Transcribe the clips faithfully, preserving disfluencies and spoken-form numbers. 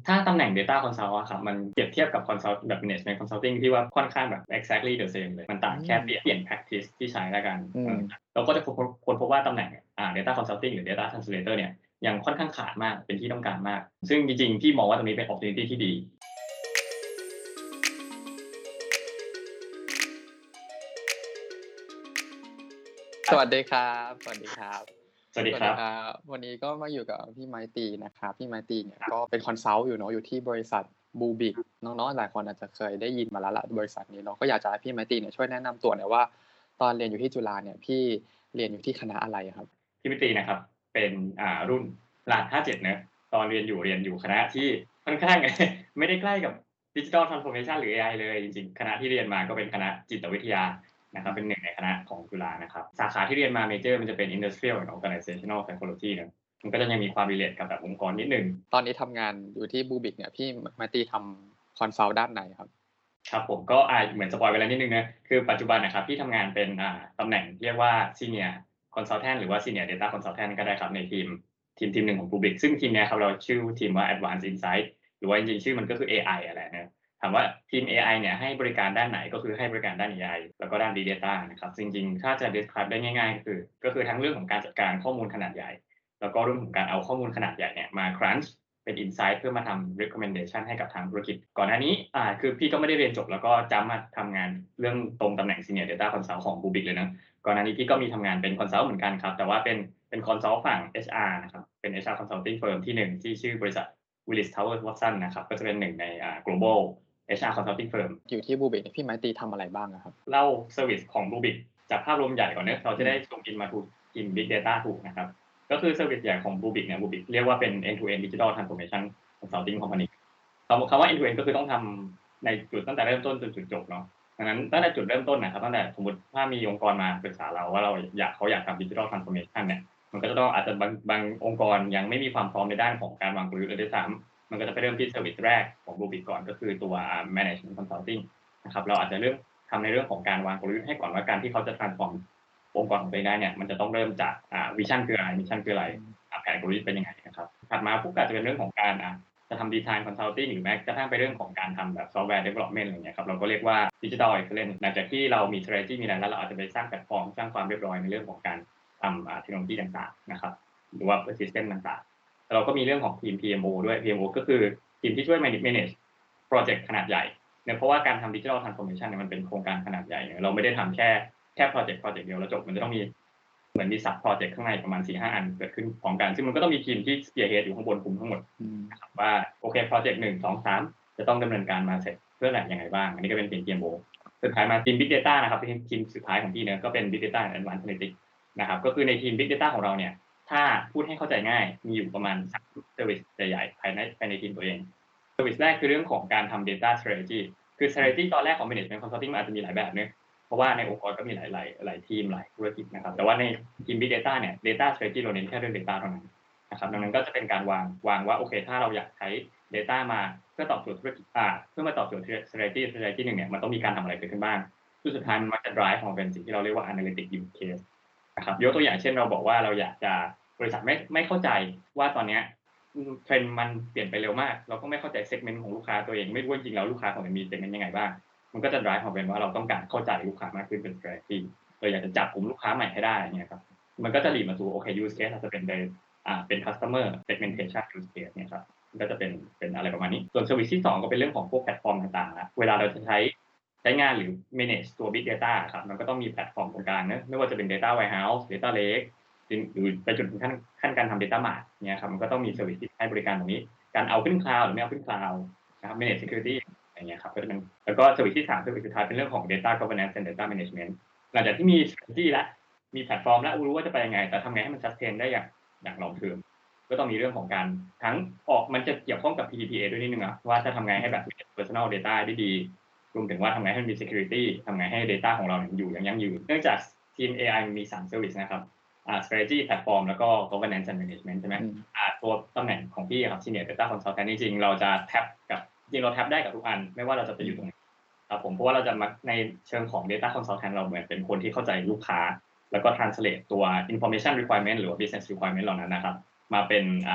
ถ้าตำแหน่ง Data Consult อะครับมันเปรียบเทียบกับ Consult แบบ Management Consulting ที่ว่าค่อนข้างแบบ exactly the same เลยมันต่างแค่เปลี่ยนเปลี่ยน practice ที่ใช้แล้วกันอืมเออเราก็จะค้นพบค้นพบว่าตำแหน่งอ่า Data Consulting หรือ Data Translator เนี่ยยังค่อนข้างขาดมากเป็นที่ต้องการมากซึ่งจริงๆพี่มองว่าตรงนี้เป็น opportunity ที่ดีสวัสดีครับสวัสดีครับสวัสดีสวัสดีครับครับวันนี้ก็มาอยู่กับพี่ไม้ตรีนะครับพี่ไม้ตรีเนี่ยก็เป็นคอนซัลท์อยู่เนาะอยู่ที่บริษัท Bluebeam น้องๆหลายคนอาจจะเคยได้ยินมาแล้วล่ะบริษัทนี้เนาะก็อยากจะให้พี่ไม้ตรีเนี่ยช่วยแนะนำตัวหน่อยว่าตอนเรียนอยู่ที่จุฬาเนี่ยพี่เรียนอยู่ที่คณะอะไรอะครับพี่มิตรีนะครับเป็นอ่ารุ่นรหัสห้าสิบเจ็ดเนาะตอนเรียนอยู่เรียนอยู่คณะที่ค่อนข้างไม่ได้ใกล้กับ Digital Transformation หรือ เอ ไอ เลยจริงๆคณะที่เรียนมาก็เป็นคณะจิตวิทยานะครับเป็นหนึ่งในคณะของจุฬานะครับสาขาที่เรียนมาเมเจอร์มันจะเป็น Industrial and Organizational Psychology เนาะมันก็จะยังมีความ relate กับแบบองค์กรนิดหนึ่งตอนนี้ทำงานอยู่ที่ Bluebeam เนี่ยพี่ไม้ตรีทำคอนซัลท์ด้านไหนครับครับผมก็อ่าเหมือนสปอยล์ไปแล้วนิดหนึ่งนะคือปัจจุบันน่ะครับพี่ทำงานเป็นอ่าตำแหน่งเรียกว่า Senior Consultant หรือว่า Senior Data Consultant ก็ได้ครับในทีมทีมทีมหนึ่งของ Rubrik ซึ่งทีมเนี้ยครับเราชื่อทีมว่า Advanced Insight หรือว่าจริงๆชื่อมันก็คือ เอ ไอ อะแหละเนาะถามว่าทีมเอไอเนี่ยให้บริการด้านไหนก็คือให้บริการด้านเอไอแล้วก็ด้าน Big Data นะครับจริงๆถ้าจะ describe ได้ง่ายๆก็คือก็คือทั้งเรื่องของการจัดการข้อมูลขนาดใหญ่แล้วก็เรื่องของการเอาข้อมูลขนาดใหญ่เนี่ยมา crunch เป็น insight เพื่อมาทำ recommendation ให้กับทางธุรกิจก่อนหน้านี้อ่าคือพี่ก็ไม่ได้เรียนจบแล้วก็จัมป์มาทำงานเรื่องตรงตำแหน่ง Senior Data Consult ของ Rubrik เลยนะก่อนหน้านี้พี่ก็มีทำงานเป็น Consult เหมือนกันครับแต่ว่าเป็นเป็น Consult ฝั่ง เอช อาร์ นะครับเป็น เอช อาร์ Consulting Firm ที่หนึ่งที่ชื่อบริษัท Willis Towers Watson นะครับก็จะเป็นหนึ่งในอ่า global เอช อาร์ Consulting Firm อยู่ที่ Bluebeam เนี่ยพี่ไม้ตรีทำอะไรบ้างอะครับเล่าเซอร์วิสของ Rubrik จากภาพรวมใหญ่ก่อนเนาะเราจะได้อืมซูมอินมาถูกทีม Big Data ถูกนะครับก็คือเซอร์วิสใหญ่ของ Rubrik เนี่ย Rubrik เรียกว่าเป็น end to end digital transformation consulting company คำคำว่า end to end ก็คือต้องทำในจุดตั้งแต่เริ่มต้นจนจุดจบเนาะดังนั้นตั้งแต่จุดเริ่มต้นนะครับตั้งแต่สมมุติถ้ามีองค์กรมาปรึกษาเราว่าเราอยากเขาอยากทำ digital transformation เนี่ยมันก็จะต้องอาจจะบางบางองค์กรยังไม่มีความพร้อมในด้านของการวางกลยุทธ์เลยด้วยซ้ำมันก็จะไปเริ่มที่เซอร์วิสแรกของ Rubrik ก่อนก็คือตัว management consulting นะครับเราอาจจะเริ่มทำในเรื่องของการวางกลยุทธ์ให้ก่อนว่าการที่เขาจะ transform องค์กรของตัวเองได้เนี่ยมันจะต้องเริ่มจากอ่าวิชั่นคืออะไรมิชชันคืออะไรอืมอ่าแผนกลยุทธ์เป็นยังไงนะครับถัดมาปุ๊บก็อาจจะเป็นเรื่องของการอ่าจะทำ design consulting หรือแม้กระทั่งไปเรื่องของการทำแบบ software development อะไรเงี้ยครับเราก็เรียกว่า digital excellence หลังจากที่เรามี strategy มีอะไรแล้วเราอาจจะไปสร้างแพลตฟอร์มสร้างความเรียบร้อยในเรื่องของการทำอ่าเทคโนโลยีต่างๆนะครับหรือว่า system ต่างๆแล้วเราก็มีเรื่องของทีม พี เอ็ม โอ ด้วย พี เอ็ม โอ ก็คือทีมที่ช่วย manage manage พรอเจกต์ขนาดใหญ่เนี่ยเพราะว่าการทำ digital transformation เนี่ยมันเป็นโครงการขนาดใหญ่เนี่ยเราไม่ได้ทำแค่แค่พรอเจกต์พรอเจกต์เดียวแล้วจบมันจะต้องมีเหมือนมี sub project ข้างในประมาณ สี่ห้า อันเกิดขึ้นพร้อมกันซึ่งมันก็ต้องมีทีมที่ spearhead อยู่ข้างบนคุมทั้งหมดอืมนะครับว่าโอเคพรอเจกต์หนึ่ง สอง สามจะต้องดำเนินการมาเสร็จเพื่ออะไรยังไงบ้างอันนี้ก็เป็นทีม พี เอ็ม โอ สุดท้ายมาทีม Big Data นะครับเป็นทีมสุดท้ายของพี่เนี่ยก็เป็น Big Data and Advanced Analytics นะครับก็คือในทีม Big Data ของเราเนี่ยถ้าพูดให้เข้าใจง่ายมีอยู่ประมาณสาม service ใหญ่ๆภายในภายในทีมตัวเอง service แรกคือเรื่องของการทำ data strategy คือ strategy ตอนแรกของ management consulting มันอาจจะมีหลายแบบเนาะเพราะว่าในองค์กรก็มีหลายหลายหลายทีมหลายธุรกิจนะครับแต่ว่าในทีม Big Data เนี่ย data strategy เราเน้นแค่เรื่อง data เท่านั้นนะครับดังนั้นก็จะเป็นการวางวางว่าโอเคถ้าเราอยากใช้ data มาเพื่อตอบโจทย์ธุรกิจอ่าเพื่อมาตอบโจทย์ strategy strategy หนึ่งเนี่ยมันต้องมีการทำอะไรเกิดขึ้นบ้างซึ่งสุดท้ายมันมักจะ drive ออกมาเป็นสิ่งที่เราเรียกว่า analytic use case นะครับยกตัวอย่างเช่นเราบอกว่าเราอยากจะบริษัทไม่ไม่เข้าใจว่าตอนเนี้ย อืม trend มันเปลี่ยนไปเร็วมากเราก็ไม่เข้าใจ segment ของลูกค้าตัวเองไม่รู้ว่าจริงๆแล้วลูกค้าของเรามี segment ยังไงบ้างมันก็จะ drive ออกเป็นว่าเราต้องการเข้าใจลูกค้ามากขึ้นเป็น strategy เราอยากจะจับกลุ่มลูกค้าใหม่ให้ได้อย่างเงี้ยครับมันก็จะ lead มาสู่โอเค use case อาจจะเป็นในอ่าเป็น customer segmentation use case เนี่ยครับมันก็จะเป็นเป็นอะไรประมาณนี้ส่วน service ที่สองก็เป็นเรื่องของพวกแพลตฟอร์มต่างๆแล้วเวลาเราจะใช้ใช้งานหรือ manage ตัว big data อะครับมันก็ต้องมีแพลตฟอร์มตรงกลางเนาะไม่ว่าจะเป็น data warehouse data lake หรือไปจนถึงขั้นขั้นการทำ data mart เนี่ยครับมันก็ต้องมีเซอร์วิสที่ให้บริการตรงนี้การเอาขึ้น cloud หรือไม่เอาขึ้น cloud นะครับ manage security อย่างเงี้ยครับก็จะเป็นแล้วก็เซอร์วิสที่สามเซอร์วิสสุดท้ายเป็นเรื่องของ data governance and data management หลังจากที่มี strategy แล้วมีแพลตฟอร์มแล้วรู้ว่าจะไปยังไงแต่ทำไงให้มัน sustain ได้อย่างอย่าง long term ก็ต้องมีเรื่องของการทั้งออกมันจะเกี่ยวข้องกับ พี ดี พี เอ ด้วยนิดนึงอะว่าจะทำไงให้แบบ personal data ได้ดีรวมถึงว่าทำไงให้มันมี security ทำไงให้ data ของเราเนี่ยอยู่อย่างยั่งยืนเนื่องจากทีม เอ ไอ มันมีสามเซอร์วิสนะครับอ่า strategy platform แล้วก็ governance and management ใช่ไหมอืมอ่าตัวตำแหน่งของพี่อะครับ senior data consultant จริงๆเราจะแท็บกับจริงๆเราแท็บได้กับทุกอันไม่ว่าเราจะไปอยู่ตรงไหนครับผมเพราะว่าเราจะมักในเชิงของ data consultant เราเหมือนเป็นคนที่เข้าใจลูกค้าแล้วก็ translate ตัว information requirement หรือว่า business requirement เหล่านั้นนะครับมาเป็นอ่า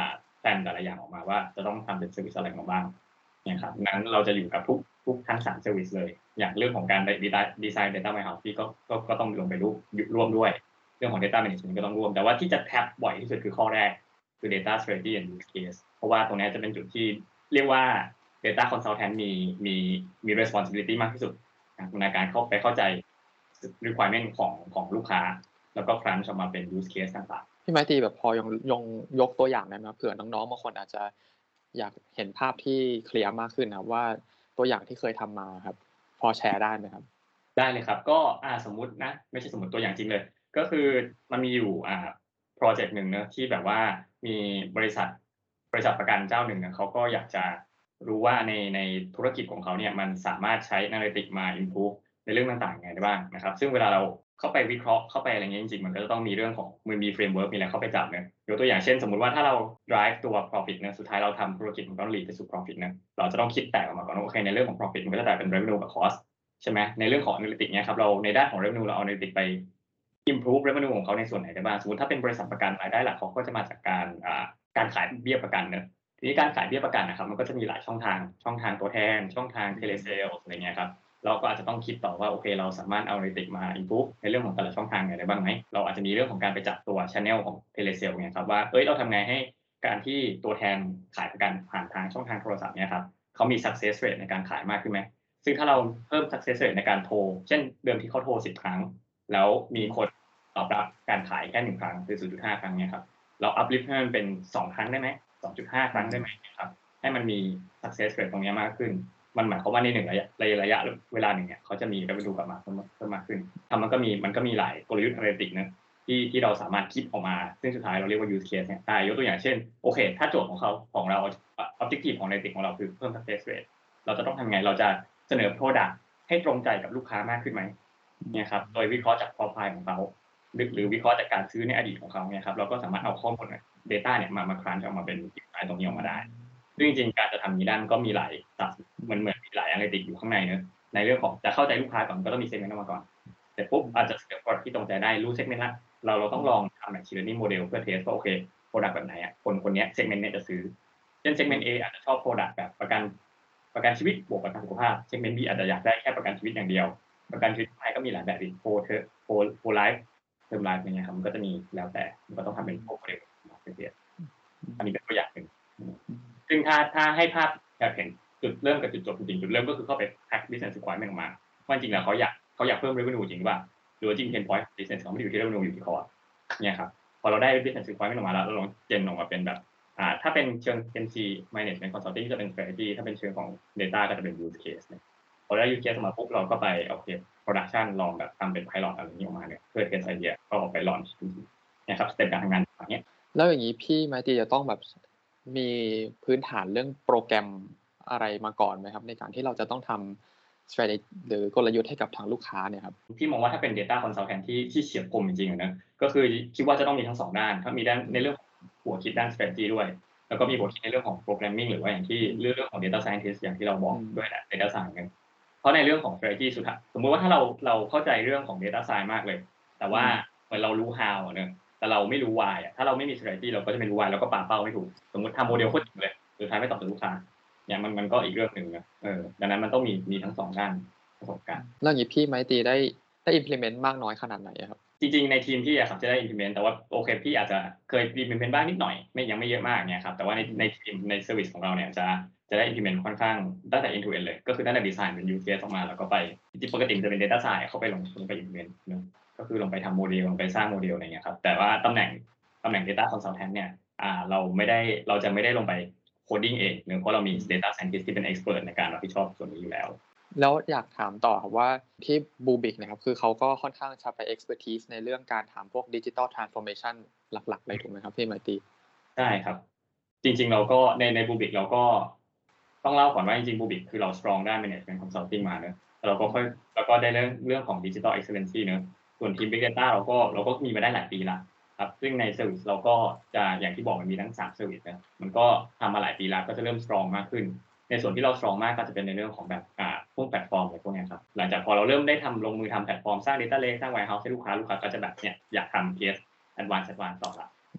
แผนแต่ละอย่างออกมาว่าจะต้องทำเป็นเซอร์วิสอะไรมาบ้างเนี่ยครับงั้นเราจะอยู่กับทุกทุกทั้งสามเซอร์วิสเลยอย่างเรื่องของการไปดีไซน์ดีไซน์ Data Warehouse พี่ก็ก็ก็ต้องลงไปร่วมร่วมด้วยเรื่องของ Data Management ก็ต้องร่วมแต่ว่าที่จะแท็บบ่อยที่สุดคือข้อแรกคือ Data Strategy and Use Case เพราะว่าตรงนี้จะเป็นจุดที่เรียกว่า Data Consultant มีมีมี responsibility มากที่สุดในการเข้าไปเข้าใจ requirement ของของลูกค้าแล้วก็ crunch ออกมาเป็น use case ต่างๆพี่ไมตรีแบบพอยงยงยกตัวอย่างได้ไหมเผื่อน้องๆบางคนอาจจะอยากเห็นภาพที่เคลียร์มากขึ้นนะว่าตัวอย่างที่เคยทำมาครับพอแชร์ได้ไหมครับได้เลยครับก็อ่าสมมุตินะไม่ใช่สมมุติตัวอย่างจริงเลยก็คือมันมีอยู่อ่าพรอเจกต์หนึ่งเนาะที่แบบว่ามีบริษัทบริษัทประกันเจ้าหนึ่งเนี่ยเขาก็อยากจะรู้ว่าในในธุรกิจของเขาเนี่ยมันสามารถใช้ Analytics มา improve ในเรื่องต่างๆยังไงได้บ้างนะครับซึ่งเวลาเราเข้าไปวิเคราะห์เข้าไปอะไรเงี้ยจริงๆมันก็จะต้องมีเรื่องของมันมี framework มีอะไรเข้าไปจับเนาะยกตัวอย่างเช่นสมมุติว่าถ้าเรา drive ตัว profit นะสุดท้ายเราทำธุรกิจมันต้อง lead ไปสู่ profit นะเราจะต้องคิดแตกออกมาก่อนว่าโอเคในเรื่องของ profit มันก็จะแตกเป็น revenue กับ costใช่ไหมในเรื่องของ Analytics เนี่ยครับเราในด้านของ Revenue เราเอา Analytics ไป improve Revenue ของเขาในส่วนไหนได้บ้างสมมุติถ้าเป็นบริษัทประกันรายได้หลักเขาก็จะมาจากการอ่าการขายเบี้ยประกันเนอะทีนี้การขายเบี้ยประกันนะครับมันก็จะมีหลายช่องทางช่องทางตัวแทนช่องทาง Telesales อะไรเงี้ยครับเราก็อาจจะต้องคิดต่อว่าโอเคเราสามารถเอา Analytics มา improve ในเรื่องของแต่ละช่องทางไหนได้บ้างไหมเราอาจจะมีเรื่องของการไปจับตัว channel ของ Telesales เนี่ยครับว่าเอ้ยเราทำไงให้การที่ตัวแทนขายประกันผ่านทางช่องทางโทรศัพท์เนี่ยครับเขามี success rate ในการขายมากขึ้นไหม ซึ่งถ้าเราเพิ่ม success rate ในการโทรเช่นเดิมที่เขาโทรสิบครั้งแล้วมีคนตอบรับการขายแค่หนึ่งครั้งคือ ศูนย์จุดห้า ครั้งเนี่ยครับเรา uplift ให้มันเป็นสองครั้งได้ไหม สองจุดห้า ครั้งได้ไหมครับให้มันมี success rate ตรงนี้มากขึ้นมันหมายความว่าในหนึ่งระยะระยะเวลาหนึ่งเนี่ยเขาจะมี revenue กลับมาเพิ่มเพิ่มมากขึ้นทำมันก็มีมันก็มีหลายกลยุทธ์ analytics นะที่ที่เราสามารถคิดออกมาซึ่งสุดท้ายเราเรียกว่า use case เนี่ยได้ยกตัวอย่างเช่นโอเคถ้าโจทย์ของเขาของเรา objective ของ analytics ของเราคือเพิ่ม success rate เราจะต้องทำไงเราจะเสนอ product ให้ตรงใจกับลูกค้ามากขึ้นไหมเนี่ยครับโดยวิเคราะห์จาก profile ของเขาหรือหรือวิเคราะห์จากการซื้อในอดีตของเขาเนี่ยครับเราก็สามารถเอาข้อมูล data เนี่ยมามา crunch ออกมาเป็น insight ตรงนี้ออกมาได้ซึ่งจริงๆการจะทำนี้ได้มันก็มีหลายตับเหมือนเหมือนมีหลาย analytics อยู่ข้างในเนอะในเรื่องของจะเข้าใจลูกค้าก่อนก็ต้องมี segment ออกมาก่อนเสร็จปุ๊บอาจจะเสนอ product ที่ตรงใจได้รู้ segment ละเราเราต้องลองทำ machine learning model เพื่อ test ว่าโอเค product แบบไหนอ่ะคนคนนี้ segment เนี่ยจะซื้อเช่น segment A อาจจะชอบ product แบบประกันประกันชีวิตบวกประกันสุขภาพ segment B อาจจะอยากได้แค่ประกันชีวิตอย่างเดียวประกันชีวิตไทยก็มีหลายแบบอีก whole whole whole life term life อย่างเงี้ยครับมันก็จะมีแล้วแต่มันก็ต้องทำเป็น portfolio อันนี้เป็นตัวอย่างหนึ่งซึ่งถ้าถ้าให้ภาพอยากเห็นจุดเริ่มกับจุดจบจริงๆจุดเริ่มก็คือเข้าไป hack business requirement ออกมาว่าจริงแล้วเขาอยากเขาอยากเพิ่ม revenue จริงหรือเปล่าหรือว่าจริง pain point business เขาไม่ได้อยู่ที่ revenue อยู่ที่ cost เนี่ยครับพอเราได้ business requirement ออกมาแล้วเราลองเจนออกมาเป็นแบบอ่าถ้าเป็นเชิง เอ็ม ซี management consulting จะเป็น strategy ถ้าเป็นเชิงของ data ก็จะเป็น use case เนี่ยพอได้ use case ออกมาปุ๊บเราก็ไปโอเค production ลองแบบทำเป็น pilot อะไรนี้ออกมาเนี่ยเพื่อ test idea ก็ออกไป launch เนี่ยครับสเต็ปการทำงานอย่างเงี้ยแล้วอย่างนี้พี่ไมตรีจะต้องแบบมีพื้นฐานเรื่องโปรแกรมอะไรมาก่อนไหมครับในการที่เราจะต้องทำ strategy หรือกลยุทธ์ให้กับทางลูกค้าเนี่ยครับพี่มองว่าถ้าเป็น data consultant ที่ที่เฉียบคมจริงๆนะก็คือคิดว่าจะต้องมีทั้งสองด้านถ้ามีด้านในเรื่องหัวคิดด้าน strategy ด้วยแล้วก็มีหัวคิดในเรื่องของ programming หรือว่าอย่างที่เรื่องของ data scientist อย่างที่เราบอกด้วยแหละ data science กันเพราะในเรื่องของ strategy สุดท้ายสมมุติว่าถ้าเราเราเข้าใจเรื่องของ data science มากเลยแต่ว่าเหมือนเรารู้ how อ่ะเนอะแต่เราไม่รู้ why อ่ะถ้าเราไม่มี strategy เราก็จะไม่รู้ why เราก็ปาเป้าไม่ถูกสมมุติทำโมเดลโคตรเจ๋งเลยสุดท้ายไม่ตอบโจทย์ลูกค้าเนี่ยมันมันก็อีกเรื่องหนึ่งนะเออดังนั้นมันต้องมีมีทั้งสองด้านประสบการณ์แล้วอย่างนี้พี่ไมตรีได้ได้ implement มากน้อยขนาดไหนครับจริงๆในทีมพี่อะครับจะได้ implement แต่ว่าโอเคพี่อาจจะเคย implement บ้างนิดหน่อยไม่ยังไม่เยอะมากเนี่ยครับแต่ว่าในในทีมใน service ของเราเนี่ยจะจะได้ implement ค่อนข้างตั้งแต่ end to end เลยก็คือตั้งแต่ design เป็น use case ออกมาแล้วก็ไปจริงๆปกติจะเป็น data science เข้าไปลงลงไป implement เนอะก็คือลงไปทำโมเดลลงไปสร้างโมเดลอะไรเงี้ยครับแต่ว่าตำแหน่งตำแหน่ง data consultant เนี่ยอ่าเราไม่ได้เราจะไม่ได้ลงไป coding เองเนอะเพราะเรามี data scientist ที่เป็น expert ในการรับผิดชอบส่วนนี้อยู่แล้วแล้วอยากถามต่อครับว่าที่บูบิกนะครับคือเขาก็ค่อนข้างจะไป expertise ในเรื่องการทำพวก digital transformation หลักๆเลยถูกไหมครับพี่ไมตรีใช่ครับจริงๆเราก็ในในบูบิกเราก็ต้องเล่าก่อนว่าจริงๆบูบิกคือเรา strong ด้าน management consulting มาเนอะเราก็ค่อยแล้วก็ได้เรื่องเรื่องของ digital excellency เนอะส่วนทีม big data เราก็เราก็มีมาได้หลายปีแล้วครับซึ่งใน service เราก็จะอย่างที่บอกมันมีทั้งสาม service นะมันก็ทำมาหลายปีแล้วก็จะเริ่ม strong มากขึ้นในส่วนที่เรา strong มากก็จะเป็นในเรื่องของแบบอ่าพวกแพลตฟอร์มอะไรพวกนี้ครับหลังจากพอเราเริ่มได้ทำลงมือทำแพลตฟอร์มสร้าง data lake สร้าง warehouse ให้ลูกค้าลูกค้าก็จะแบบเนี่ยอยากทำ case advance advance ต่อละ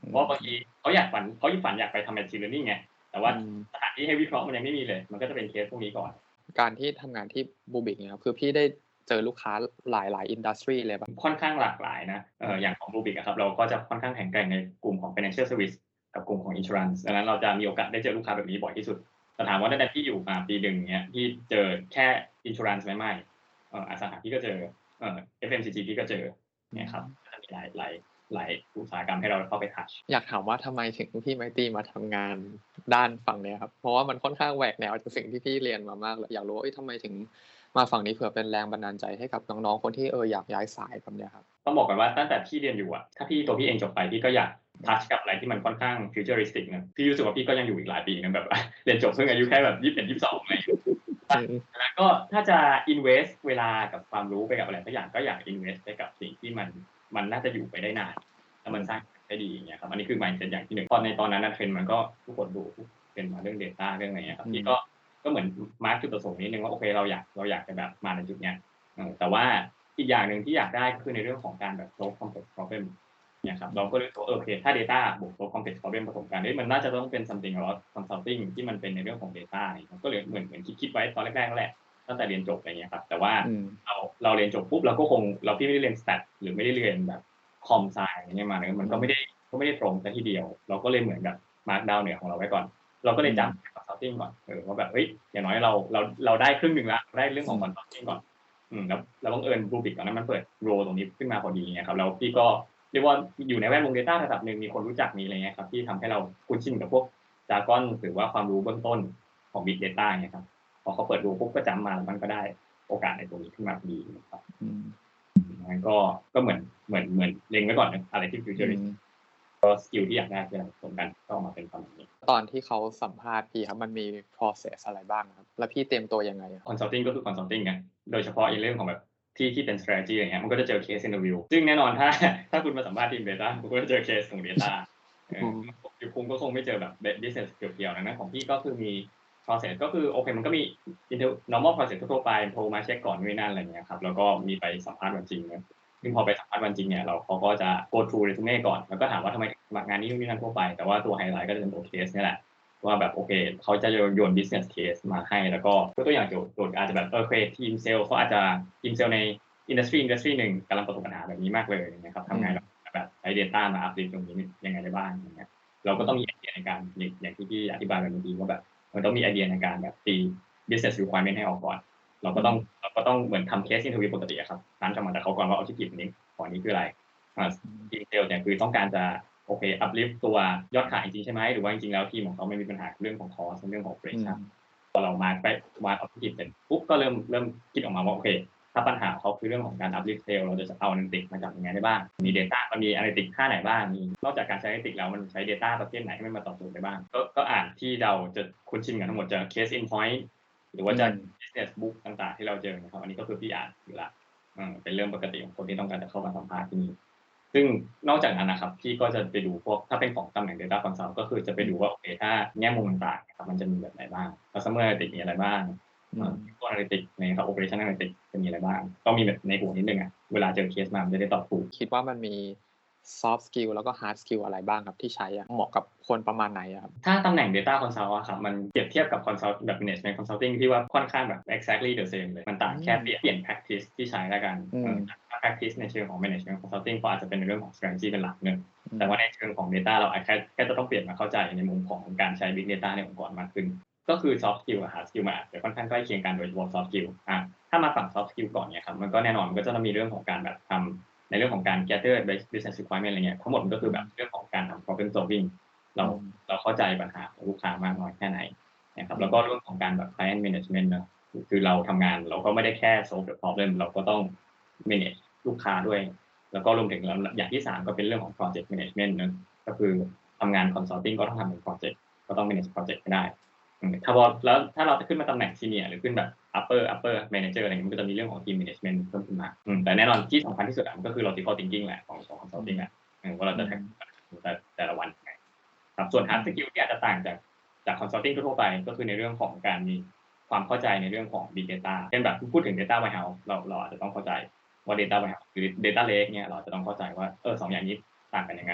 เพราะว่าบางทีเขาอยากฝันเขาฝันอยากไปทำ machine learning ไงแต่ว่าสถานที่ให้วิเคราะห์มันยังไม่มีเลยมันก็จะเป็นเคสพวกนี้ก่อนการที่ทำงานที่ Rubrik เนี่ยครับคือพี่ได้เจอลูกค้าหลายๆ industry เลยป่ะค่อนข้างหลากหลายนะเอ่ออย่างของ Rubrik อะครับเราก็จะค่อนข้างแข็งแกร่งในกลุ่มของ financial service กับกลุ่มของ insurance ดังนั้นเราจะมีโอกาสได้เจอลูกค้าแบบนี้บ่อยที่สุดแต่ถามว่าตั้งแต่พี่อยู่มาปีหนึ่งเงี้ยพี่เจอแค่ insurance ไหมไม่เอ่ออสังหาพี่ก็เจอเอ่อ เอฟ เอ็ม ซี จี พี่ก็เจอเนี่ยครับก็จะมีหลายหลายหลายอุตสาหกรรมให้เราเข้าไป touch อยากถามว่าทำไมถึงพี่ไมตรีมาทำงานด้านฝั่งเนี้ยครับเพราะว่ามันค่อนข้างแหวกแนวจากสิ่งที่พี่เรียนมามากเลยอยากรู้ว่าเอ้ยทำไมถึงมาฝั่งนี้เผื่อเป็นแรงบันดาลใจให้กับน้องๆคนที่เอออยากย้ายสายแบบเนี้ยครับต้องบอกก่อนว่าตั้งแต่พี่เรียนอยู่อะถ้าพี่ตัวพี่เองจบไปพี่ก็อยาก touch กับอะไรที่มันค่อนข้าง futuristic นะพี่รู้สึกว่าพี่ก็ยังอยู่อีกหลายปีนะแบบเรียนจบเพิ่งอายุแค่แบบยี่สิบเอ็ด ยี่สิบสองอะไรอย่างเงี้ยแล้วก็ถ้าจะ invest เวลากับความรู้ไปกับอะไรสักอย่างก็อยาก invest ไปกับสิ่งที่มันมันน่าจะอยู่ไปได้นานแล้วมันสร้างได้ดีอย่างเงี้ยครับอันนี้คือ mindset อย่างที่หนึ่งตอนในตอนนั้นเทรนด์มันก็ทุกคนดูเป็นมาเรื่อง data เรื่องอะไรเงี้ยครับพี่ก็ก็เหมือนมาร์คจุดประสงค์นิดนึงว่าโอเคเราอยากเราอยากจะแบบมาในจุดเนี้ยแต่ว่าอีกอย่างหนึ่งที่อยากได้ก็คือในเรื่องของการแบบ solve complex problem เนี่ยครับเราก็เลยโอเคถ้า data บวก solve complex problem ผสมกันมันน่าจะต้องเป็น something about consulting ที่มันเป็นในเรื่องของ data เนี่ยก็เลยเหมือนเหมือนคิดๆไว้ตอนแรกๆนั่นแหละตั้งแต่เรียนจบอะไรเงี้ยครับแต่ว่าเราเราเรียนจบปุ๊บเราก็คงเราพี่ไม่ได้เรียน stat หรือไม่ได้เรียนแบบ com sci อะไรเงี้ยมาเนี่ยมันก็ไม่ได้ก็ไม่ได้ตรงซะทีเดียวเราก็เลยเหมือนแบบ mark down เหนือของเราไว้ก่อนเราก็เลยจำ consulting ก่อนเออว่าแบบเฮ้ยอย่างน้อยเราเราเราได้ครึ่งนึงแล้วได้เรื่องของ consulting ก่อนอืมแล้วแล้วบังเอิญ Rubrik ตอนนั้นมันเปิดโรตรงนี้ขึ้นมาพอดีเงี้ยครับแล้วพี่ก็เรียกว่าอยู่ในแวดวง data ระดับนึงมีคนรู้จักมีอะไรเงี้ยครับที่ทำให้เราคุ้นชินกับพวก jargon หรือว่าความรู้เบื้องต้นของ big data เงี้ยครับพอเขาเปิดดูปุ๊บก็จำมาแล้วมันก็ได้โอกาสในตรงนี้ขึ้นมาพอดีนะครับงั้นก็ก็เหมือนเหมือนเหมือนเล็งไว้ก่อนนะอะไรที่ futuristic ก็สกิลที่อยากได้คืออะไรผสมกันก็ออกมาเป็นประมาณนี้ตอนที่เขาสัมภาษณ์พี่ครับมันมี process อะไรบ้างครับแล้วพี่เตรียมตัวยังไง consulting ก็คือ consulting ไงโดยเฉพาะในเรื่องของแบบที่ที่เป็น strategy อย่างเงี้ยมันก็จะเจอ case interview ซึ่งแน่นอนถ้าถ้าคุณมาสัมภาษณ์ทีม data คุณก็จะเจอ case ของ data เออคุณก็คงไม่เจอแบบ business เกี่ยวๆนะของพี่ก็คือมี process ก็คือโอเคมันก็มี normal process ทั่วไปโทรมาเช็คก่อนนู่นนั่นอะไรเงี้ยครับแล้วก็มีไปสัมภาษณ์วันจริงนะซึ่งพอไปสัมภาษณ์วันจริงเนี่ยเราเขาก็จะ go through resume ก่อนแล้วก็ถามว่าทำไมสมัครงานนี้นู่นนั่นทั่วไปแต่ว่าตัวไฮไลท์ก็จะเป็นตัว case นี่แหละว่าแบบโอเคเขาจะโยน business case มาให้แล้วก็ตัวอย่างโจทย์โจทย์อาจจะแบบเออเคทีมเซลล์เขาอาจจะทีมเซลล์ใน industry industry หนึ่งกำลังประสบปัญหาแบบนี้มากเลยนะครับทำไงแบบใช้ data มา uplift ตรงนี้ยังไงได้บ้างอย่างเงี้ยเราก็ต้องมีไอเดียในการอย่างที่พี่อธิบายไปเมื่อกี้ว่าแบบมันต้องมีไอเดียในการแบบตี business requirement ให้ออกก่อนเราก็ต้องเราก็ต้องเหมือนทำ case interview ปกติครับนั้นจะมาจากเขาก่อนว่า objective นี้ของนี้คืออะไรทีมเซลล์เนี่ยคือต้องการจะโอเค uplift ตัวยอดขายจริงใช่ไหมหรือว่าจริงๆแล้วทีมของเขาไม่มีปัญหาเรื่องของ cost เรื่องของ operation พอเรามาไปวาง objective เสร็จปุ๊บก็เริ่มเริ่มคิดออกมาว่าโอเคถ้าปัญหาเขาคือเรื่องของการ uplift sale เราจะเอา analytics มาจับยังไงได้บ้างมี data มันมี analytics ค่าไหนบ้างมีนอกจากการใช้ analytics แล้วมันใช้ data ประเภทไหนให้มันมาตอบโจทย์ได้บ้างก็ก็อ่านที่เราจะคุ้นชินกันทั้งหมดจะ case in point หรือว่าจะ business book ต่างๆที่เราเจอนะครับอันนี้ก็คือพี่อ่านอยู่ละเป็นเรื่องปกติของคนที่ต้องการจะเข้ามาสัมภาษณ์ที่นี่ซึ่งนอกจากนั้นนะครับพี่ก็จะไปดูพวกถ้าเป็นของตำแหน่ง data consult ก็คือจะไปดูว่าโอเคถ้าแง่มุมต่างๆครับมันจะมีแบบไหนบ้าง customer analytics มีอะไรบ้างตัว analytics นะครับ operation analytics จะมีอะไรบ้างต้องมีแบบในหัวนิดนึงอ่ะเวลาเจอเคสมามันจะได้ตอบถูกคิดว่ามันมี soft skill แล้วก็ hard skill อะไรบ้างครับที่ใช้เหมาะกับคนประมาณไหนครับถ้าตำแหน่ง data consult อะครับมันเปรียบเทียบกับ consult แบบ management consulting ที่ว่าค่อนข้างแบบ exactly the same เลยมันต่างแค่เปลี่ยนเปลี่ยน practice ที่ใช้แล้วกันถ้า practice ในเชิงของ management consulting ก็อาจจะเป็นในเรื่องของ strategy เป็นหลักนึงแต่ว่าในเชิงของ data เราอาจจะแค่จะต้องเปลี่ยนมาเข้าใจในมุมของการใช้ big data ในองค์กรมากขึ้นก็คือ soft skill กับ hard skill มันอาจจะค่อนข้างใกล้เคียงกันโดยเฉพาะ soft skill อ่ะถ้ามาฝั่ง soft skill ก่อนเนี่ยครับมันก็แน่นอนมันก็จะต้องมีเรื่องของการแบบทำในเรื่องของการ gather business requirement อะไรเงี้ยทั้งหมดมันก็คือแบบเรื่องของการทำ problem solving เราเราเข้าใจปัญหาของลูกค้ามากน้อยแค่ไหนนะครับแล้วก็เรื่องของการแบบ client management นะคือเราทำงานเราก็ไม่ได้แค่ solve the problem เราก็ต้อง manage ลูกค้าด้วยแล้วก็รวมถึงอย่างที่สามก็เป็นเรื่องของ project management นะก็คือทำงาน consulting ก็ต้องทำเป็น project ก็ต้อง manage project ให้ได้ถ้าพอแล้วถ้าเราจะขึ้นมาตำแหน่ง senior หรือขึ้นแบบ upper upper manager อะไรเงี้ยมันก็จะมีเรื่องของ team management เพิ่มขึ้นมาแต่แน่นอนที่สำคัญที่สุดมันก็คือ logical thinking แหละของของ consulting แหละว่าเราจะแต่แต่ละวันยังไงครับส่วน hard skill ที่อาจจะต่างจากจาก consulting ทั่วไปก็คือในเรื่องของการมีความเข้าใจในเรื่องของ big data เช่นแบบพูดถึง data warehouse เราเราอาจจะต้องเข้าใจว่า data warehouse หรือ data lake เนี่ยเราจะต้องเข้าใจว่าเออสองอย่างนี้ต่างกันยังไง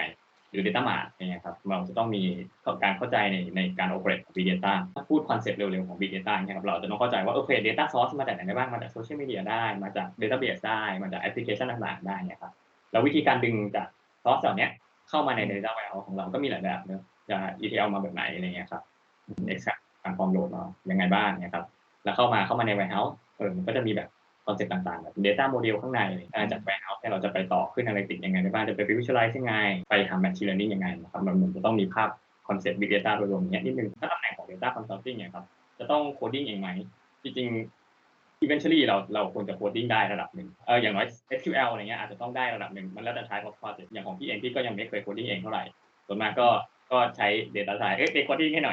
หรือ Data Mart อย่างเงี้ยครับเราจะต้องมีการเข้าใจในในการ operate ของ Big Data ถ้าพูดคอนเซ็ปต์เร็วๆของ Big Data เนี่ยครับเราจะต้องเข้าใจว่าโอเค Data Source มาจากไหนได้บ้างมาจาก Social Media ได้มาจาก Database ได้มาจากแอปพลิเคชันต่างๆได้เนี่ยครับแล้ววิธีการดึงจาก Source เหล่านี้เข้ามาใน Data Warehouse ของเราก็มีหลายแบบเนาะจะ อี ที แอล มาแบบไหนอะไรเงี้ยครับ Extract การ form load มายังไงบ้างเนี่ยครับแล้วเข้ามาเข้ามาใน Warehouse เออมันก็จะมีแบบคอนเซ็ปต์ต่างๆแบบ Data Model ข้างในจาก Warehouse เนี่ยเราจะไปต่อขึ้น Analytics ยังไงได้บ้างจะไป Visualize ยังไงไปทำ Machine Learning ยังไงนะครับมันมันจะต้องมีภาพคอนเซ็ปต์ Big Data โดยรวมเนี้ยนิดนึงถ้าตำแหน่งของ Data Consulting เนี่ยครับจะต้องโคดดิ้งเองไหมจริงๆ eventually เราเราควรจะโคดดิ้งได้ระดับหนึ่งเอออย่างน้อย เอส คิว แอล อะไรเงี้ยอาจจะต้องได้ระดับหนึ่งมันแล้วแต่ type of project อย่างของพี่เองพี่ก็ยังไม่เคยโคดดิ้งเองเท่าไหร่ส่วนมากก็ก็ใช้ Data Science เอ๊ะเป็นโคดดิ้งให้หน่อย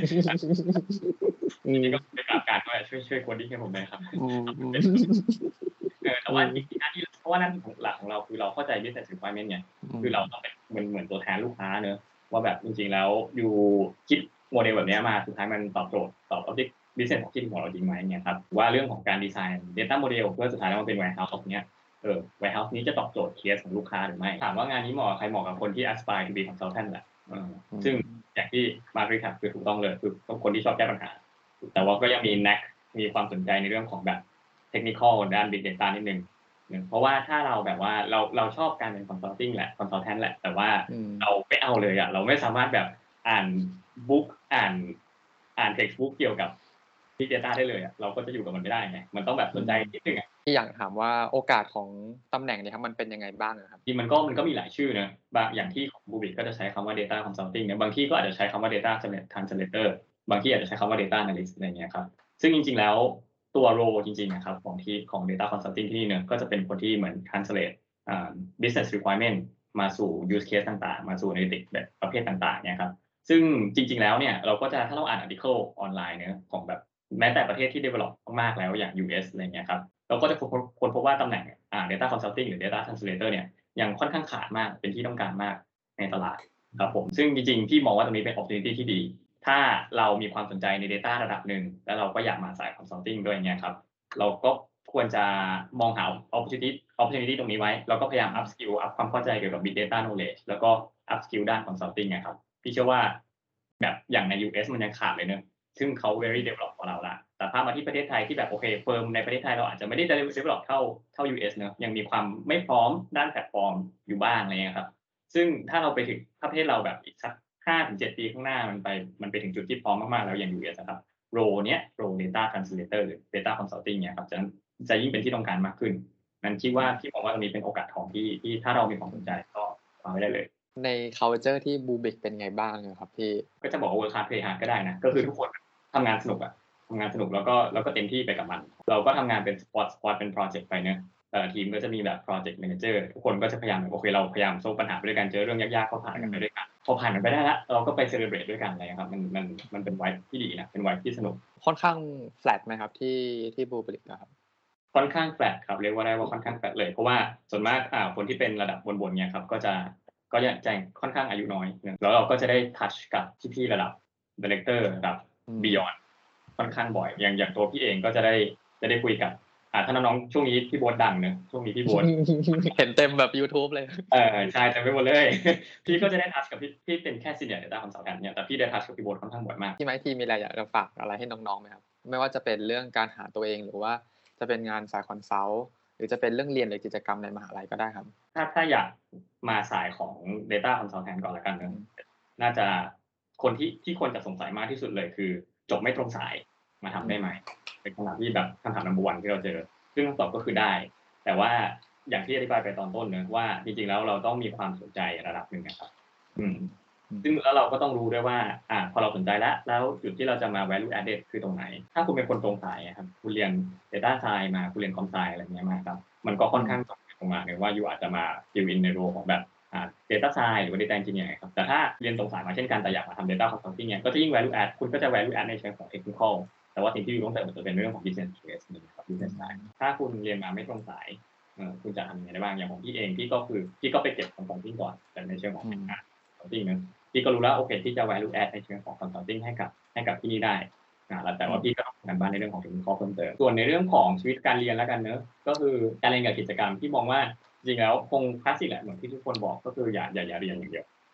จริงๆก็ไปกราบการว่าช่วยช่วยโคดดิ้งให้ผมหน่อยครับเออแต่ว่าจริงๆหน้าที่เพราะว่าหน้าที่ของหลักของเราคือเราเข้าใจ business requirement ไงคือเราต้องเป็นเหมือนเหมือนตัวแทนลูกค้าเนอะว่าแบบจริงๆแล้วอยู่คิดโมเดลแบบนี้มาสุดท้ายมันตอบโจทย์ตอบ object business ของที่ของเราจริงไหมเนี่ยครับว่าเรื่องของการดีไซน์ data model เพื่อสุดท้ายแล้วมันเป็น warehouse ของเนี้ยเออ warehouse นี้จะตอบโจทย์เคสของลูกค้าหรือไม่ถามว่างานนี้เหมาะกับใครเหมาะกับคนที่ aspire to be consultant แหละเออซึ่งอย่างที่มาร์ครีแคปคือถูกต้องเลยคือคนที่ชอบแก้ปัญหาแต่ว่าก็ยังมี knack มีความสนใจในเรื่องของแบบ technical ด้าน big data นิดนึงเพราะว่าถ้าเราแบบว่าเราเราชอบการเป็น consulting แหละ consultant แหละแต่ว่าเราไม่เอาเลยอ่ะเราไม่สามารถแบบอ่านบุ๊กอ่านอ่าน textbook เกี่ยวกับ Big Data ได้เลยอ่ะเราก็จะอยู่กับมันไม่ได้ไงมันต้องแบบสนใจนิดนึงอ่ะที่อยากถามว่าโอกาสของตำแหน่งนี้ครับมันเป็นยังไงบ้างครับจริงมันก็มันก็มีหลายชื่อนะบางอย่างที่ของ Rubrik ก็จะใช้คำว่า Data Consulting เนี่ยบางที่ก็อาจจะใช้คำว่า Data Translator บางที่อาจจะใช้คำว่า Data Analyst อะไรเงี้ยครับซึ่งจริงๆแล้วตัว role จริงๆนะครับของที่ของ Data Consulting ที่นี่เนี่ยก็จะเป็นคนที่เหมือน translate อ่า business requirement มาสู่ use case ต่างๆมาสู่ analytics แบบประเภทต่างๆเนี่ยครับซึ่งจริงๆแล้วเนี่ยเราก็จะถ้าเราอ่าน article ออนไลน์เนี่ยของแบบแม้แต่ประเทศที่ develop มากๆแล้วอย่าง ยู เอส อะไรเงี้ยครับเราก็จะค้นพบว่าตำแหน่งอ่า data consulting หรือ data translator เนี่ยยังค่อนข้างขาดมากเป็นที่ต้องการมากในตลาดครับผมซึ่งจริงๆพี่มองว่าตรงนี้เป็น opportunity ที่ดีถ้าเรามีความสนใจใน data ระดับหนึ่งแล้วเราก็อยากมาสาย consulting ด้วยเงี้ยครับเราก็ควรจะมองหา opportunity opportunity ตรงนี้ไว้แล้วก็พยายาม up skill up ความเข้าใจเกี่ยวกับ big data knowledge แล้วก็ up skill ด้าน consulting นะครับพี่เชื่อว่าแบบอย่างใน ยู เอส มันยังขาดเลยเนอะซึ่งเขา very develop กว่าเราละแต่ถ้ามาที่ประเทศไทยที่แบบโอเคเฟิร์มในประเทศไทยเราอาจจะไม่ได้ develop เท่าเท่า ยู เอส เนอะยังมีความไม่พร้อมด้านแพลตฟอร์มอยู่บ้างอะไรเงี้ยครับซึ่งถ้าเราไปถึงถ้าประเทศเราแบบอีกสัก ห้าถึงเจ็ด ปีข้างหน้ามันไปมันไปถึงจุดที่พร้อมมากๆแล้วอย่าง ยู เอส นะครับโรเนี้ยโร data translator หรือ data consulting เนี่ยครับจะจะยิ่งเป็นที่ต้องการมากขึ้นนั้นคิดว่าพี่มองว่าตรงนี้เป็นโอกาสทองที่ที่ถ้าเรามีความสนใจก็วางไว้ได้เลยใน culture ที่ Rubrik เป็นไงบ้างครับพี่ก็จะบอกว่า work hard play hard ก็ได้นะก็คือทุกคนทำงานสนุกอะทำงานสนุกแล้วก็แล้วก็เต็มที่ไปกับมันเราก็ทำงานเป็น squad squad เป็น project ไปเนอะแต่ละทีมก็จะมีแบบ project manager ทุกคนก็จะพยายามโอเคเราพยายามโซลปัญหาไปด้วยกันเจอเรื่องยากๆก็ผ่านกันไปด้วยกันพอผ่านมันไปได้แล้วเราก็ไป celebrate ด้วยกันอะไรครับมันมันมันเป็น vibe ที่ดีนะเป็น vibe ที่สนุกค่อนข้าง flat ไหมครับที่ที่ Rubrik อะครับค่อนข้าง flat ครับเรียกว่าได้ว่าค่อนข้าง flat เลยเพราะว่าส่วนมากอ่าคนที่เป็นระดับบนๆเนี่ยครับก็จะก็จะแจ้งค่อนข้างอายุน้อยแล้วเราก็จะได้ touch กับพี่ๆระดับ director ระดับ beyond ค่อนข้างบ่อยอย่างอย่างตัวพี่เองก็จะได้จะได้คุยกับอ่าถ้าน้องๆช่วงนี้พี่โบ๊ทดังเนอะช่วงนี้พี่โบ๊ทเห็นเต็มแบบ YouTube เลยเออใช่เต็มไปหมดเลยพี่ก็จะได้ touch กับพี่พี่เป็นแค่ senior data consultant เนี่ยแต่พี่ได้ touch กับพี่โบ๊ทค่อนข้างบ่อยมากพี่ไมค์ทีมีอะไรอยากจะฝากอะไรให้น้องๆไหมครับไม่ว่าจะเป็นเรื่องการหาตัวเองหรือว่าจะเป็นงานสายคอนซัลท์หรือจะเป็นเรื่องเรียนหรือกิจกรรมในมหาลัยก็ได้ครับถ้าถ้าอยากมาสายของ data consultant ก่อนละกันเนอะน่าจะคนที่ที่คนจะสงสัยมากที่สุดเลยคือจบไม่ตรงสายมาทำได้ไหมเป็นคำถามที่แบบคำถาม number one ที่เราเจอซึ่งคำตอบก็คือได้แต่ว่าอย่างที่อธิบายไปตอนต้นเนอะว่าจริงๆแล้วเราต้องมีความสนใจระดับหนึ่งนะครับอืมซึ่งแล้วเราก็ต้องรู้ด้วยว่าอ่าพอเราสนใจแล้วแล้วจุดที่เราจะมา value added คือตรงไหนถ้าคุณเป็นคนตรงสายครับคุณเรียน data science มาคุณเรียน com sci อะไรเงี้ยมาครับมันก็ค่อนข้างตรงไปตรงมาเลยว่าอยู่อาจจะมา fill in ในโรของแบบอ่า data science หรือว่า data engineer ครับแต่ถ้าเรียนตรงสายมาเช่นกันแต่อยากมาทำ data consulting เนี่ยก็จะยิ่ง value add คุณก็จะ value add ในเชิงของ technical แต่ว่าสิ่งที่อยู่ต้องเติมมันจะเป็นเรื่องของ business case นะครับ business side ถ้าคุณเรียนมาไม่ตรงสายเอ่อคุณจะทำยังไงได้บ้างอย่างของพี่เองพี่ก็คือพี่ก็ไปเก็บ consulting ก่อนแต่ในเชิงของ consulting นะพี่ก็รู้แล้วโอเคที่จะ value add ในเชิงของ consulting ให้กับให้กับที่นี่ได้อ่าแต่ว่าพี่ก็ต้องทำงานบ้านในเรื่องของ technical เพิ่มเติมส่วนในเรื่องของชีวิตการเรียนแล้วกันเนอะก็คือการเรียนกับกิจกรรมพี่มองว่าจริงๆแล้วคงคลาสสิกแหละเหมือนที่ทุกคนบอกก็คืออย่าอย่าอย่าเรียนอย่างเดียว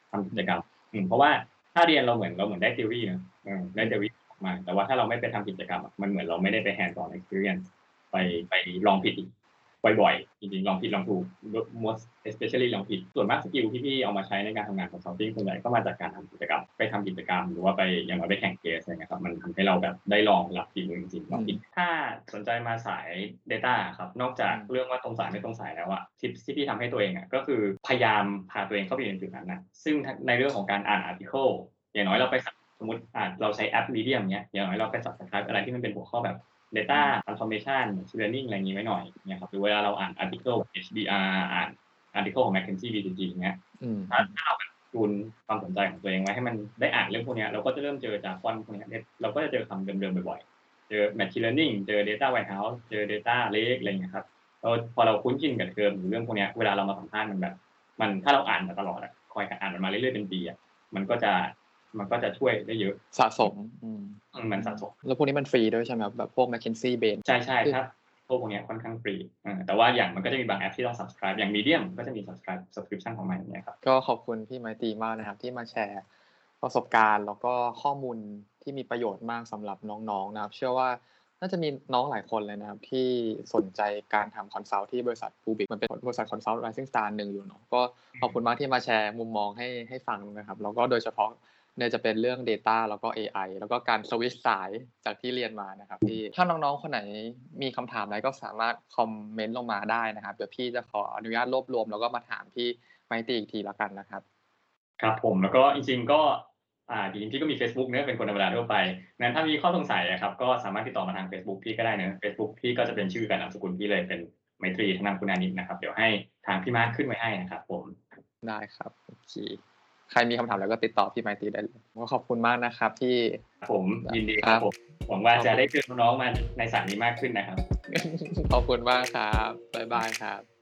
ทำกิจกรรมอืมเพราะว่าถ้าเรียนเราเหมือนเราเหมือนได้ theory เนาะเออได้ theory มาแต่ว่าถ้าเราไม่ไปทำกิจกรรมอะมันเหมือนเราไม่ได้ไป hands on experience ไปไปลองผิดอีกบ่อยๆจริงๆลองผิดลองถูก most especially ลองผิดส่วนมากสกิลที่พี่เอามาใช้ในการทำงาน consulting ส่วนใหญ่ก็มาจากการทำกิจกรรมไปทำกิจกรรมหรือว่าไปอย่างน้อยไปแข่งเคสอะไรเงี้ยครับมันทำให้เราแบบได้ลองรับฝีมือจริงๆลองผิดถ้าสนใจมาสาย data ครับนอกจากเรื่องว่าตรงสายไม่ตรงสายแล้วอะทิปที่พี่ทำให้ตัวเองอะก็คือพยายามพาตัวเองเข้าไปอยู่ในจุดนั้นนะซึ่งในเรื่องของการอ่าน article อย่างน้อยเราไปสมมติอ่านเราใช้แอป Medium เนี้ยอย่างน้อยเราไป subscribe อะไรที่มันเป็นหัวข้อแบบ data transformation machine learning อะไรอย่างงี้ไว้หน่อยเนี่ยครับหรือเวลาเราอ่าน article เอช บี อาร์ อ่าน article ของ McKinsey บี ซี จี อย่างเงี้ยถ้าถ้าเราแบบจูนความสนใจของตัวเองไว้ให้มันได้อ่านเรื่องพวกเนี้ยเราก็จะเริ่มเจอ jargon พวกเนี้ยเราก็จะเจอคำเดิมๆบ่อยๆเจอ machine learning เจอ data warehouse เจอ data lake อะไรอย่างเงี้ยครับแล้วพอเราคุ้นชินกับเทอมหรือเรื่องพวกเนี้ยเวลาเรามาสัมภาษณ์มันแบบมันถ้าเราอ่านมาตลอดอะคอยอ่านมันมาเรื่อยๆเป็นปีอะมันก็จะมันก็จะช่วยได้เยอะสะสมอืมอืมมันสะสมแล้วพวกนี้มันฟรีด้วยใช่ไหมครับแบบพวก McKinsey Bain ใช่ๆครับพวกพวกเนี้ยค่อนข้างฟรีเออแต่ว่าอย่างมันก็จะมีบางแอปที่ต้อง subscribe อย่าง Medium ก็จะมี subscribe subscription ของมันอย่างเงี้ยครับก็ขอบคุณพี่ไมตรีมากนะครับที่มาแชร์ประสบการณ์แล้วก็ข้อมูลที่มีประโยชน์มากสำหรับน้องๆนะครับเชื่อว่าน่าจะมีน้องหลายคนเลยนะครับที่สนใจการทำคอนซัลท์ที่บริษัท Rubik มันเป็นบริษัทคอนซัลท์ Rising Star หนึ่งอยู่เนาะก็ขอบคุณมากที่มาแชร์มุมมองให้ให้ฟังนะครับแล้วก็โดยเฉพาะเนี่ยจะเป็นเรื่อง data แล้วก็ เอ ไอ แล้วก็การสวิตช์สายจากที่เรียนมานะครับที่ถ้าน้องๆคนไหนมีคำถามอะไรก็สามารถคอมเมนต์ลงมาได้นะครับเดี๋ยวพี่จะขออนุญาตรวบรวมแล้วก็มาถามพี่ไมตรีอีกทีแล้วกันนะครับครับผมแล้วก็จริงๆก็อ่าจริงๆพี่ก็มีเฟซบุ๊กเนาะเป็นคนธรรมดาทั่วไปงั้นถ้ามีข้อสงสัยอะครับก็สามารถติดต่อมาทางเฟซบุ๊กพี่ก็ได้เนาะเฟซบุ๊กพี่ก็จะเป็นชื่อกับนามสกุลพี่เลยเป็นไมตรีธนคุณานิชนะครับเดี๋ยวให้ทางพี่มาร์คขึ้นไว้ให้นะครับผมได้ครับโอเคใครมีคำถามอะไรก็ติดต่อพี่ไมตรีได้เลยก็ขอบคุณมากนะครับที่ผมยินดีครับผมหวังว่าจะได้เจอน้องๆมาในสายนี้มากขึ้นนะครับขอบคุณมากครับบ๊ายบายครับ